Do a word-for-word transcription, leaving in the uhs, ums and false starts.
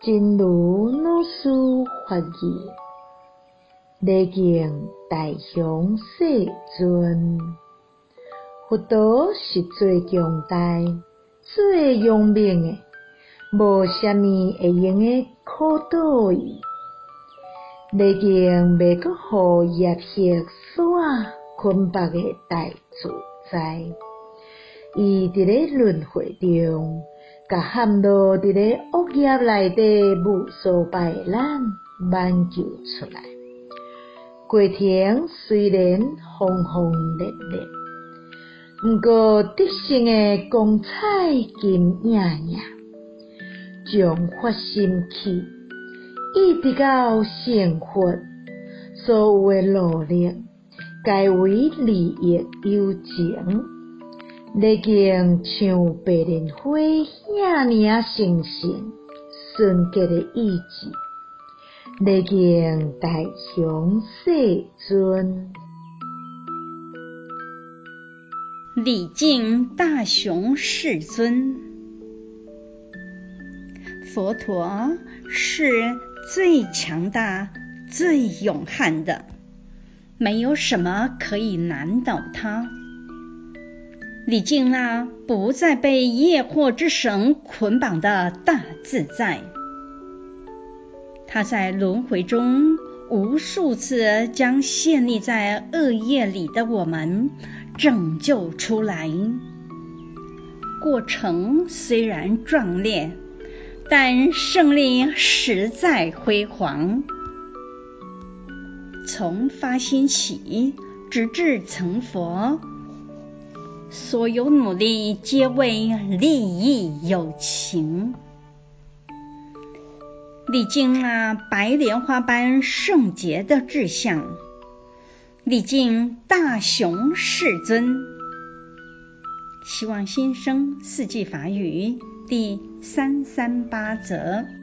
真如老師法語，禮敬大雄世尊。佛陀是最強大、最聰明的，無啥物會用的考倒伊。禮敬未閣互業力所捆綁的大自在，伊佇咧輪迴中，甲陷落佇咧惡業內底無數擺的咱挽救出來。過程雖然轟轟烈烈，毋過得勝的光彩金映映，將發心起，一直到成佛，所有的努力，皆為利益有情。禮敬像白蓮花遐爾神聖純潔的意志，禮敬大雄世尊。 禮敬大雄世尊。佛陀是最強大、最勇悍的，沒有什麼可以難倒他。禮敬那不再被業惑之繩捆綁的大自在，他在輪迴中無數次將陷溺在惡業裡的我們拯救出來。過程雖然壯烈，但勝利實在輝煌。從發心起，直至成佛，所有努力皆為利益有情。禮敬那白蓮花般聖潔的志向，禮敬大雄世尊。希望新生四季法語第三三八則。